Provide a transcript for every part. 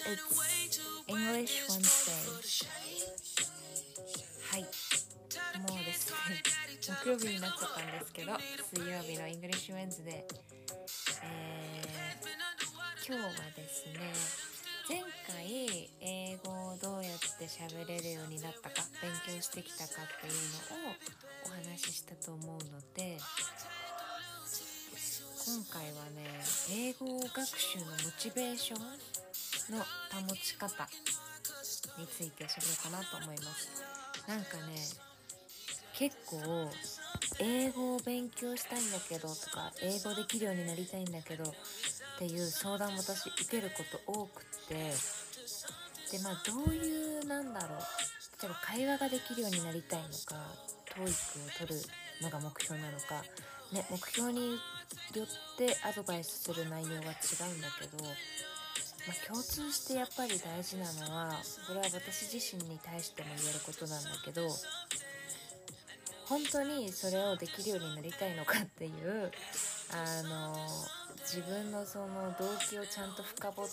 it's English Wednesday. はい、もうですね、木曜日になっちゃったんですけど、水曜日の English Wednesday、今日はですね、前回英語をどうやって喋れるようになったか、勉強してきたかっていうのをお話ししたと思うので、今回はね、英語学習のモチベーションの保ち方について喋ろうかなと思います。なんかね、結構英語を勉強したいんだけどとか、英語できるようになりたいんだけどっていう相談を私受けること多くて、でどういう例えば会話ができるようになりたいのか、TOEIC を取るのが目標なのかね、目標によってアドバイスする内容は違うんだけど、共通してやっぱり大事なのは、これは私自身に対しても言えることなんだけど、本当にそれをできるようになりたいのかっていう自分のその動機をちゃんと深掘って、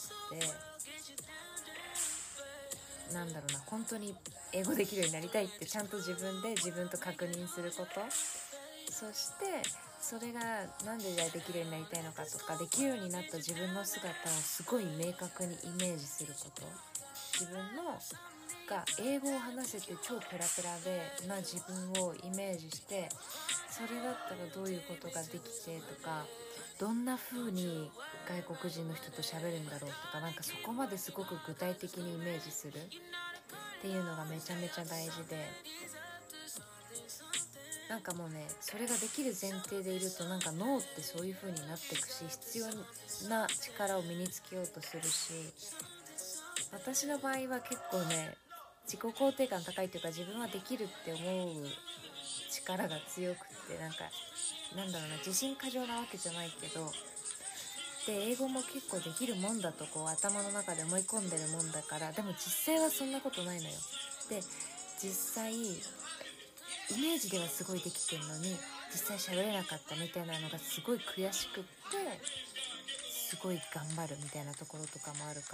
本当に英語できるようになりたいってちゃんと自分と確認すること、そしてそれがなんでできるようになりたいのかとか、できるようになった自分の姿をすごい明確にイメージすること、自分が英語を話せて超ペラペラな自分をイメージして、それだったらどういうことができてとか、どんな風に外国人の人と喋るんだろうとか、そこまですごく具体的にイメージするっていうのがめちゃめちゃ大事で、もうね、それができる前提でいると脳ってそういう風になっていくし、必要な力を身につけようとするし、私の場合は結構ね、自己肯定感高いというか、自分はできるって思う力が強くって、自信過剰なわけじゃないけど、で英語も結構できるもんだと頭の中で思い込んでるもんだから、でも実際はそんなことないのよ。で実際イメージではすごいできてるのに、実際喋れなかったみたいなのがすごい悔しくって、すごい頑張るみたいなところとかもあるから、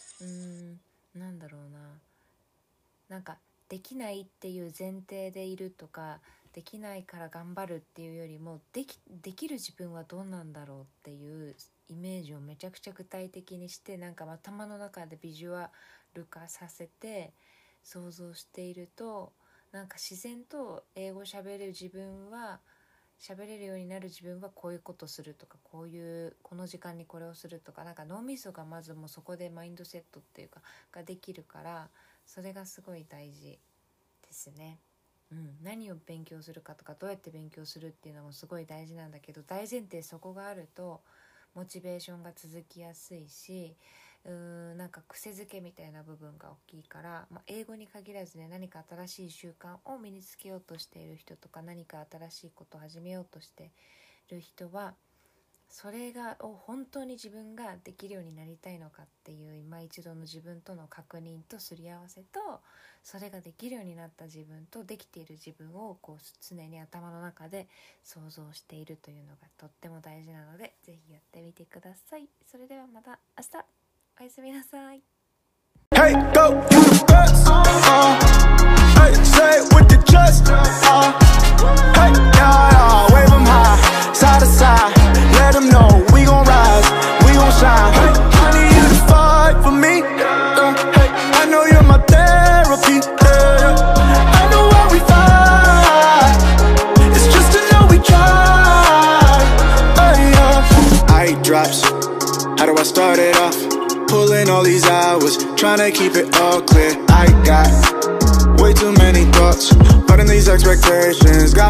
できないっていう前提でいるとか、できないから頑張るっていうよりも、できる自分はどうなんだろうっていうイメージをめちゃくちゃ具体的にして、頭の中でビジュアル化させて想像していると、自然と英語喋れるようになる自分はこういうことするとか、この時間にこれをするとか、脳みそがまずもうそこでマインドセットっていうかができるから、それがすごい大事ですね。何を勉強するかとか、どうやって勉強するっていうのもすごい大事なんだけど、大前提そこがあるとモチベーションが続きやすいし、癖づけみたいな部分が大きいから、英語に限らずね、何か新しい習慣を身につけようとしている人とか、何か新しいことを始めようとしている人は、それを本当に自分ができるようになりたいのかっていう今一度の自分との確認とすり合わせと、それができるようになった自分とできている自分を常に頭の中で想像しているというのがとっても大事なので、ぜひやってみてください。それではまた明日、おやすみなさい。 Hey, go, you the best. Hey, say it with the chest. Hey, wave 'em high, side to side. Let 'em know we gon' rise, we gon' shine. Hey, I need you to fight for me. Hey, I know you're my therapy. I know why we fight. It's just to know we tried. I eat drops. How do I start it off? Pulling all these hours, trying to keep it all clear. I got way too many thoughts, but in these expectations got